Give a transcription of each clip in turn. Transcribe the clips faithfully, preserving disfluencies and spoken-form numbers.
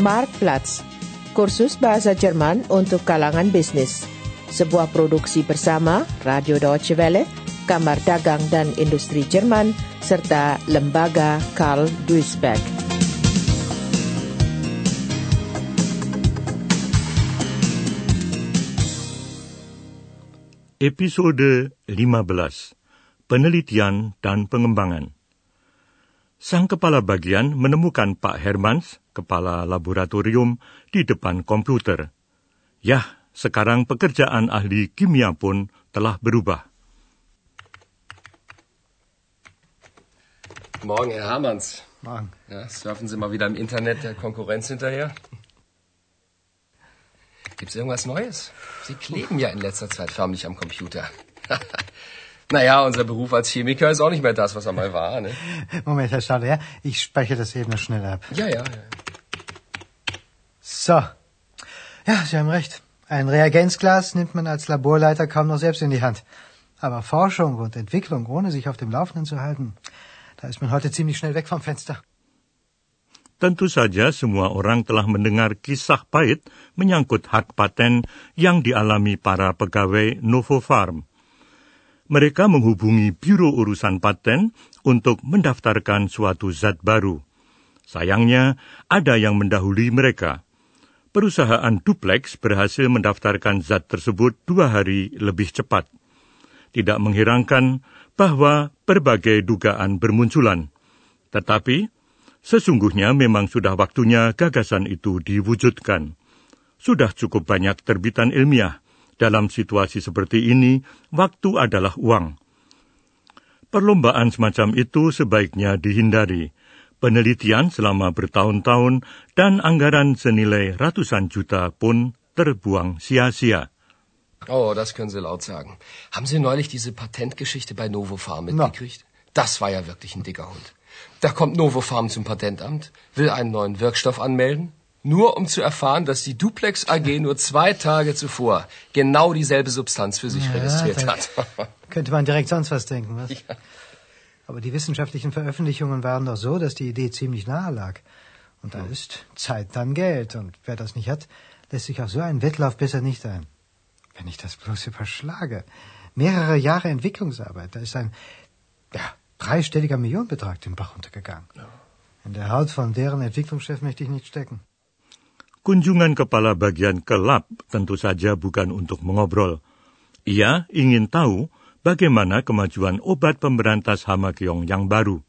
Marktplatz, kursus bahasa Jerman untuk kalangan bisnis. Sebuah produksi bersama Radio Deutsche Welle, Kamar Dagang dan Industri Jerman, serta Lembaga Karl Duisberg. Episode lima belas. Penelitian dan Pengembangan. Sang kepala bagian menemukan Pak Hermans, kepala laboratorium, di depan komputer. Yah, sekarang pekerjaan ahli kimia pun telah berubah. Morgen, Herr Hermans. Morgen. Ja, surfen Sie mal wieder im Internet der Konkurrenz hinterher? Gibt's irgendwas Neues? Sie kleben ja in letzter Zeit förmlich am Computer. Naja, unser Beruf als Chemiker ist auch nicht mehr das, was er mal war, ne? Moment, Herr Staller, ja? Ich speichere das eben noch schnell ab. Ja, ja, ja. So. Ja, Sie haben recht. Ein Reagenzglas nimmt man als Laborleiter kaum noch selbst in die Hand. Aber Forschung und Entwicklung, ohne sich auf dem Laufenden zu halten, da ist man heute ziemlich schnell weg vom Fenster. Tentu saja semua orang telah mendengar kisah pahit menyangkut hak paten yang dialami para pegawai Novofarm. Mereka menghubungi Biro Urusan Paten untuk mendaftarkan suatu zat baru. Sayangnya, ada yang mendahului mereka. Perusahaan Duplex berhasil mendaftarkan zat tersebut dua hari lebih cepat. Tidak mengherankan bahwa berbagai dugaan bermunculan. Tetapi, sesungguhnya memang sudah waktunya gagasan itu diwujudkan. Sudah cukup banyak terbitan ilmiah. Dalam situasi seperti ini, waktu adalah uang. Perlombaan semacam itu sebaiknya dihindari. Penelitian selama bertahun-tahun dan anggaran senilai ratusan juta pun terbuang sia-sia. Oh, das können Sie laut sagen. Haben Sie neulich diese Patentgeschichte bei Novofarm mitgekriegt? No. Das war ja wirklich ein dicker Hund. Da kommt Novofarm zum Patentamt, will einen neuen Wirkstoff anmelden, nur um zu erfahren, dass die Duplex A G nur zwei Tage zuvor genau dieselbe Substanz für sich ja, registriert hat. Könnte man direkt sonst was denken, was? Ja. Aber die wissenschaftlichen Veröffentlichungen waren doch so, dass die Idee ziemlich nahe lag. Und da hm. ist Zeit dann Geld. Und wer das nicht hat, lässt sich auf so einen Wettlauf besser nicht ein. Wenn ich das bloß überschlage. Mehrere Jahre Entwicklungsarbeit, da ist ein ja, dreistelliger Millionenbetrag den Bach runtergegangen. Ja. In der Haut von deren Entwicklungschef möchte ich nicht stecken. Kunjungan kepala bagian ke lab tentu saja bukan untuk mengobrol. Ia ingin tahu bagaimana kemajuan obat pemberantas hama keong yang baru.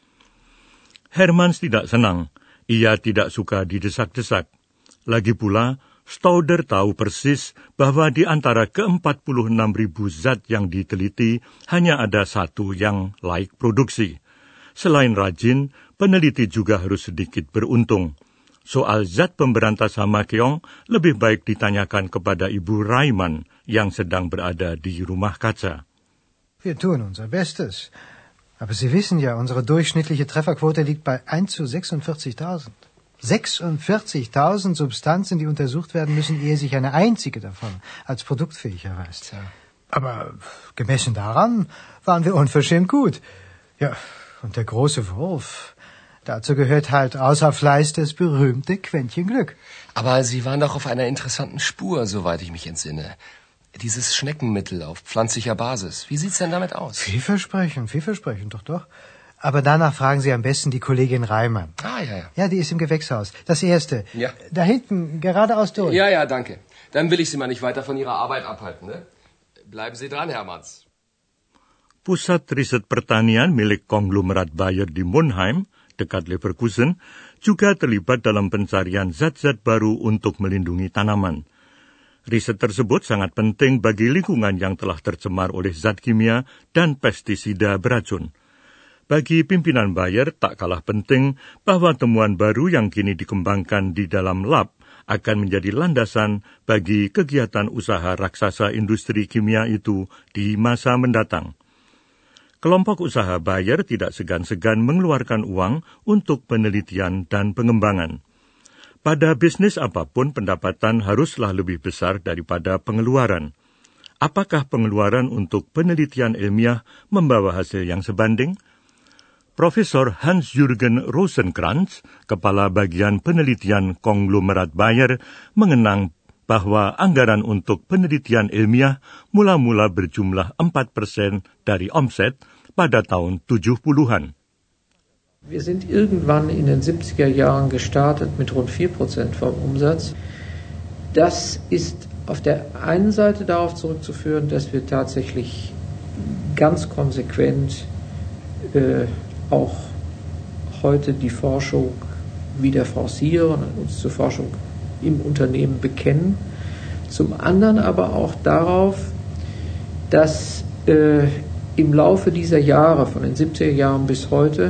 Hermans tidak senang. Ia tidak suka didesak-desak. Lagi pula, Stauder tahu persis bahwa di antara ke empat puluh enam ribu zat yang diteliti, hanya ada satu yang layak produksi. Selain rajin, peneliti juga harus sedikit beruntung. Soal zat pemberantas hama keong lebih baik ditanyakan kepada Ibu Reimann yang sedang berada di rumah kaca. Wir tun unser Bestes. Aber Sie wissen ja, unsere durchschnittliche Trefferquote liegt bei eins zu sechsundvierzigtausend. sechsundvierzigtausend Substanzen, die untersucht werden müssen, ehe sich eine einzige davon als produktfähig erweist. Ja. Aber gemessen daran waren wir unverschämt gut. Ja, und der große Wurf, dazu gehört halt außer Fleiß das berühmte Quäntchen Glück. Aber Sie waren doch auf einer interessanten Spur, soweit ich mich entsinne. Dieses Schneckenmittel auf pflanzlicher Basis. Wie sieht's denn damit aus? Vielversprechend, vielversprechend, doch, doch. Aber danach fragen Sie am besten die Kollegin Reimann. Ah, ja, ja. Ja, die ist im Gewächshaus. Das erste. Ja. Da hinten, geradeaus durch. Ja, ja, danke. Dann will ich Sie mal nicht weiter von Ihrer Arbeit abhalten, ne? Bleiben Sie dran, Hermans. Pusat riset pertanian milik konglomerat Bayer di Monheim, dekat Leverkusen, juga terlibat dalam pencarian zat-zat baru untuk melindungi tanaman. Riset tersebut sangat penting bagi lingkungan yang telah tercemar oleh zat kimia dan pestisida beracun. Bagi pimpinan Bayer tak kalah penting bahwa temuan baru yang kini dikembangkan di dalam lab akan menjadi landasan bagi kegiatan usaha raksasa industri kimia itu di masa mendatang. Kelompok usaha Bayer tidak segan-segan mengeluarkan uang untuk penelitian dan pengembangan. Pada bisnis apapun, pendapatan haruslah lebih besar daripada pengeluaran. Apakah pengeluaran untuk penelitian ilmiah membawa hasil yang sebanding? Profesor Hans-Jürgen Rosenkrantz, Kepala Bagian Penelitian Konglomerat Bayer, mengenang bahwa anggaran untuk penelitian ilmiah mula-mula berjumlah empat persen dari omset pada tahun tujuh puluhan. Wir sind irgendwann in den siebziger Jahren gestartet mit rund vier Prozent vom Umsatz. Das ist auf der einen Seite darauf zurückzuführen, dass wir tatsächlich ganz konsequent äh, auch heute die Forschung wieder forcieren und uns zur Forschung im Unternehmen bekennen. Zum anderen aber auch darauf, dass äh, im Laufe dieser Jahre, von den siebziger Jahren bis heute,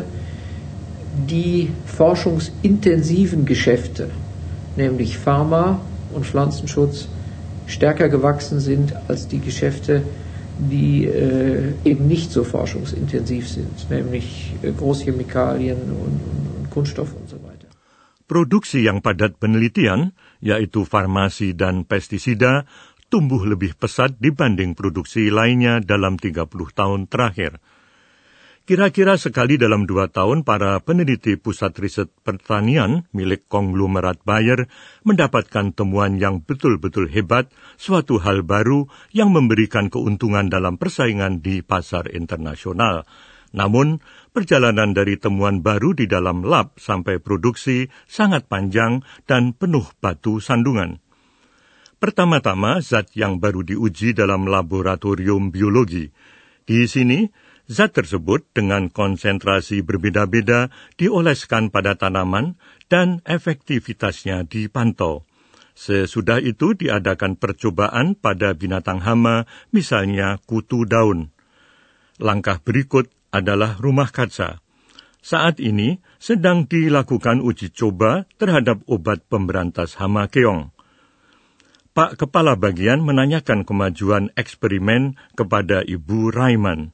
die forschungsintensiven Geschäfte, nämlich Pharma und Pflanzenschutz, stärker gewachsen sind als die Geschäfte, die äh, eben nicht so forschungsintensiv sind, nämlich äh, Großchemikalien und, und, und Kunststoff und so weiter. Produksi yang padat penelitian, yaitu farmasi dan pestisida, tumbuh lebih pesat dibanding produksi lainnya dalam tiga puluh tahun terakhir. Kira-kira sekali dalam dua tahun, para peneliti Pusat Riset Pertanian milik konglomerat Bayer mendapatkan temuan yang betul-betul hebat, suatu hal baru yang memberikan keuntungan dalam persaingan di pasar internasional. Namun, perjalanan dari temuan baru di dalam lab sampai produksi sangat panjang dan penuh batu sandungan. Pertama-tama, zat yang baru diuji dalam laboratorium biologi. Di sini, zat tersebut dengan konsentrasi berbeda-beda dioleskan pada tanaman dan efektivitasnya dipantau. Sesudah itu diadakan percobaan pada binatang hama, misalnya kutu daun. Langkah berikut adalah rumah kaca. Saat ini sedang dilakukan uji coba terhadap obat pemberantas hama keong. Pak Kepala Bagian menanyakan kemajuan eksperimen kepada Ibu Raiman.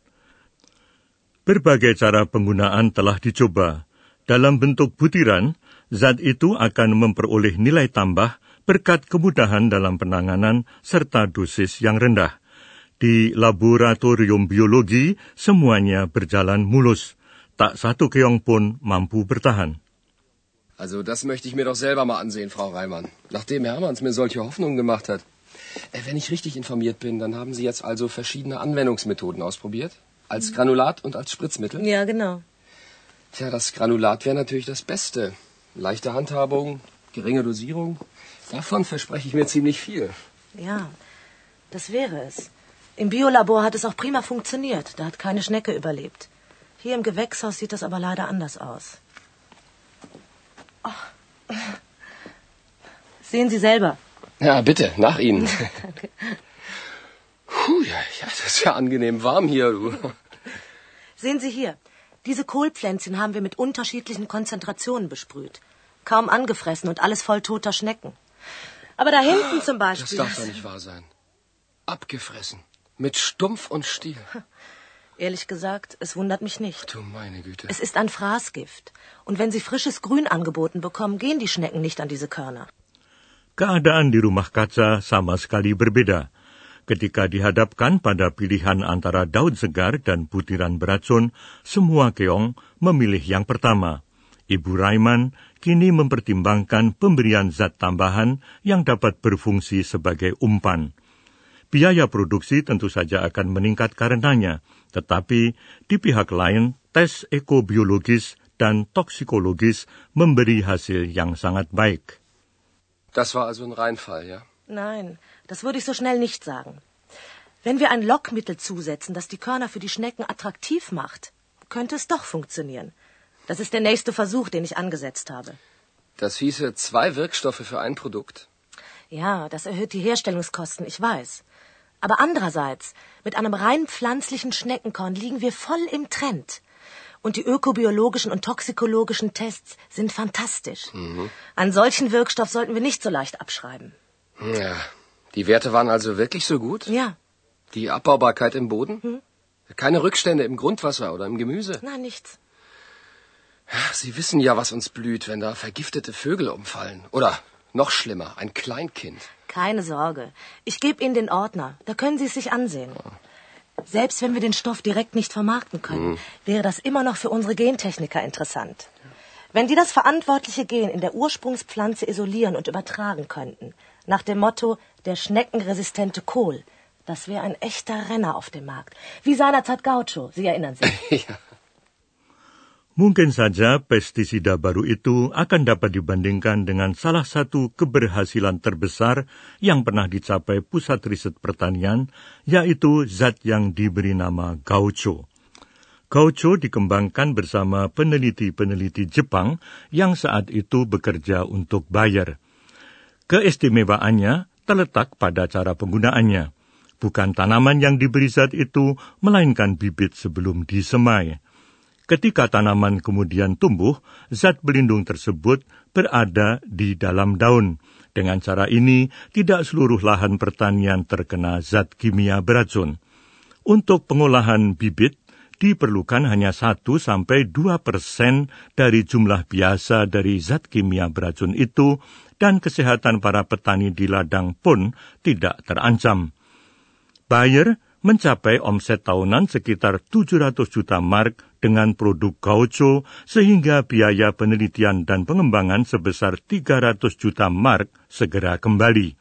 Berbagai cara penggunaan telah dicoba. Dalam bentuk butiran, zat itu akan memperoleh nilai tambah berkat kemudahan dalam penanganan serta dosis yang rendah. Di laboratorium biologi, semuanya berjalan mulus. Tak satu keong pun mampu bertahan. Also das möchte ich mir doch selber mal ansehen, Frau Reimann. Nachdem Hermanns mir solche Hoffnungen gemacht hat. Äh, wenn ich richtig informiert bin, dann haben Sie jetzt also verschiedene Anwendungsmethoden ausprobiert? Als Granulat und als Spritzmittel? Ja, genau. Tja, das Granulat wäre natürlich das Beste. Leichte Handhabung, geringe Dosierung. Davon verspreche ich mir ziemlich viel. Ja, das wäre es. Im Biolabor hat es auch prima funktioniert. Da hat keine Schnecke überlebt. Hier im Gewächshaus sieht das aber leider anders aus. Oh. Sehen Sie selber. Ja, bitte, nach Ihnen. Danke. Puh, ja, ja, das ist ja angenehm warm hier, du. Sehen Sie hier, diese Kohlpflänzchen haben wir mit unterschiedlichen Konzentrationen besprüht. Kaum angefressen und alles voll toter Schnecken. Aber da hinten zum Beispiel... Das darf doch nicht wahr sein. Abgefressen. Mit Stumpf und Stiel. Ehrlich gesagt, es wundert mich nicht. Du meine Güte. Es ist ein Fraßgift. Und wenn Sie frisches Grün angeboten bekommen, gehen die Schnecken nicht an diese Körner. Keadaan di rumah kaca sama sekali berbeda. Ketika dihadapkan pada pilihan antara daun segar dan butiran beracun, semua keong memilih yang pertama. Ibu Raiman kini mempertimbangkan pemberian zat tambahan yang dapat berfungsi sebagai umpan. Biaya produksi tentu saja akan meningkat karenanya, tetapi di pihak lain, tes ekobiologis dan toksikologis memberi hasil yang sangat baik. Das war also ein Reinfall, ja? Nein, das würde ich so schnell nicht sagen. Wenn wir ein Lockmittel zusetzen, das die Körner für die Schnecken attraktiv macht, könnte es doch funktionieren. Das ist der nächste Versuch, den ich angesetzt habe. Das hieße zwei Wirkstoffe für ein Produkt. Ja, das erhöht die Herstellungskosten, ich weiß. Aber andererseits, mit einem rein pflanzlichen Schneckenkorn liegen wir voll im Trend. Und die ökobiologischen und toxikologischen Tests sind fantastisch. Mhm. Einen solchen Wirkstoff sollten wir nicht so leicht abschreiben. Ja, die Werte waren also wirklich so gut? Ja. Die Abbaubarkeit im Boden? Hm? Keine Rückstände im Grundwasser oder im Gemüse? Nein, nichts. Sie wissen ja, was uns blüht, wenn da vergiftete Vögel umfallen. Oder noch schlimmer, ein Kleinkind. Keine Sorge. Ich gebe Ihnen den Ordner. Da können Sie es sich ansehen. Selbst wenn wir den Stoff direkt nicht vermarkten können, hm. wäre das immer noch für unsere Gentechniker interessant. Wenn die das verantwortliche Gen in der Ursprungspflanze isolieren und übertragen könnten, nach dem Motto, der schneckenresistente Kohl, das wäre ein echter Renner auf dem Markt. Wie seinerzeit Gaucho, Sie erinnern sich. Ja. Mungkin saja pestisida baru itu akan dapat dibandingkan dengan salah satu keberhasilan terbesar yang pernah dicapai Pusat Riset Pertanian, yaitu zat yang diberi nama Gaucho. Gaucho dikembangkan bersama peneliti-peneliti Jepang yang saat itu bekerja untuk Bayer. Keistimewaannya terletak pada cara penggunaannya. Bukan tanaman yang diberi zat itu, melainkan bibit sebelum disemai. Ketika tanaman kemudian tumbuh, zat pelindung tersebut berada di dalam daun. Dengan cara ini, tidak seluruh lahan pertanian terkena zat kimia beracun. Untuk pengolahan bibit, diperlukan hanya satu sampai dua persen dari jumlah biasa dari zat kimia beracun itu, dan kesehatan para petani di ladang pun tidak terancam. Bayer mencapai omset tahunan sekitar tujuh ratus juta mark dengan produk Gaucho, sehingga biaya penelitian dan pengembangan sebesar tiga ratus juta mark segera kembali.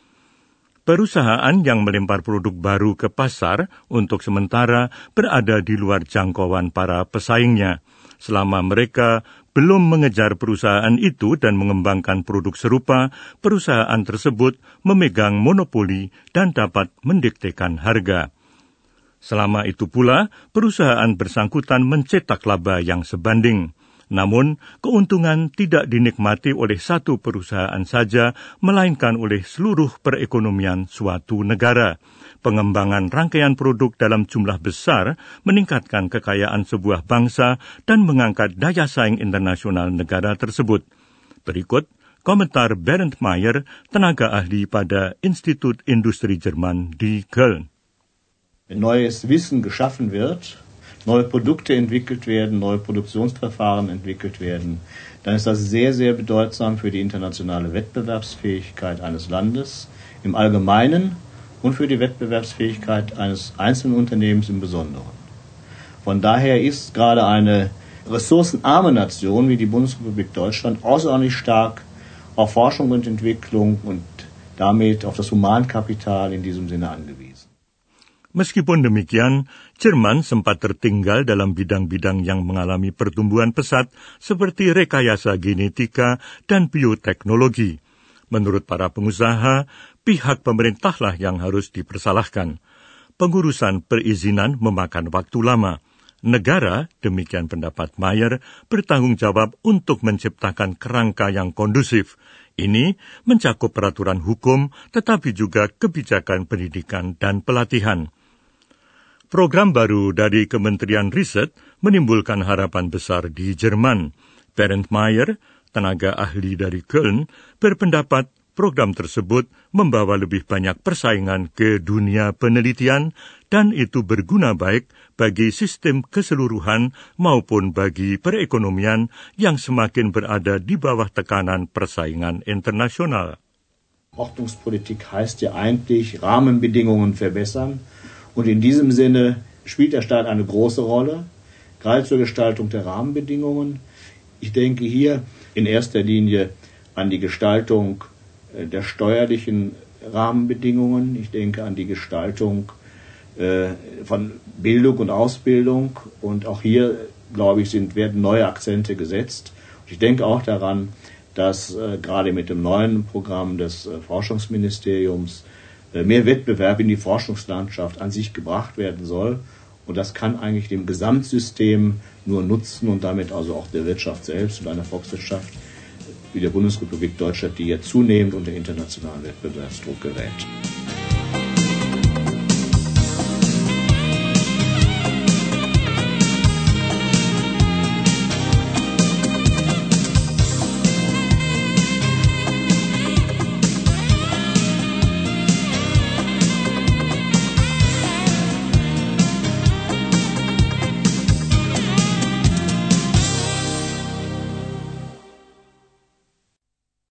Perusahaan yang melempar produk baru ke pasar untuk sementara berada di luar jangkauan para pesaingnya. Selama mereka belum mengejar perusahaan itu dan mengembangkan produk serupa, perusahaan tersebut memegang monopoli dan dapat mendiktekan harga. Selama itu pula, perusahaan bersangkutan mencetak laba yang sebanding. Namun, keuntungan tidak dinikmati oleh satu perusahaan saja, melainkan oleh seluruh perekonomian suatu negara. Pengembangan rangkaian produk dalam jumlah besar meningkatkan kekayaan sebuah bangsa dan mengangkat daya saing internasional negara tersebut. Berikut komentar Bernd Meyer, tenaga ahli pada Institut Industri Jerman di Köln. Wenn neues Wissen geschaffen wird, neue Produkte entwickelt werden, neue Produktionsverfahren entwickelt werden, dann ist das sehr, sehr bedeutsam für die internationale Wettbewerbsfähigkeit eines Landes im Allgemeinen und für die Wettbewerbsfähigkeit eines einzelnen Unternehmens im Besonderen. Von daher ist gerade eine ressourcenarme Nation wie die Bundesrepublik Deutschland außerordentlich stark auf Forschung und Entwicklung und damit auf das Humankapital in diesem Sinne angewiesen. Meskipun demikian, Jerman sempat tertinggal dalam bidang-bidang yang mengalami pertumbuhan pesat seperti rekayasa genetika dan bioteknologi. Menurut para pengusaha, pihak pemerintahlah yang harus dipersalahkan. Pengurusan perizinan memakan waktu lama. Negara, demikian pendapat Meyer, bertanggung jawab untuk menciptakan kerangka yang kondusif. Ini mencakup peraturan hukum, tetapi juga kebijakan pendidikan dan pelatihan. Program baru dari Kementerian Riset menimbulkan harapan besar di Jerman. Bernd Meyer, tenaga ahli dari Köln, berpendapat program tersebut membawa lebih banyak persaingan ke dunia penelitian dan itu berguna baik bagi sistem keseluruhan maupun bagi perekonomian yang semakin berada di bawah tekanan persaingan internasional. Ordnungspolitik heißt ja eigentlich Rahmenbedingungen verbessern. Und in diesem Sinne spielt der Staat eine große Rolle, gerade zur Gestaltung der Rahmenbedingungen. Ich denke hier in erster Linie an die Gestaltung der steuerlichen Rahmenbedingungen. Ich denke an die Gestaltung äh, von Bildung und Ausbildung. Und auch hier, glaube ich, sind, werden neue Akzente gesetzt. Und ich denke auch daran, dass äh, gerade mit dem neuen Programm des äh, Forschungsministeriums mehr Wettbewerb in die Forschungslandschaft an sich gebracht werden soll. Und das kann eigentlich dem Gesamtsystem nur nutzen und damit also auch der Wirtschaft selbst und einer Volkswirtschaft wie der Bundesrepublik Deutschland, die ja zunehmend unter internationalen Wettbewerbsdruck gerät.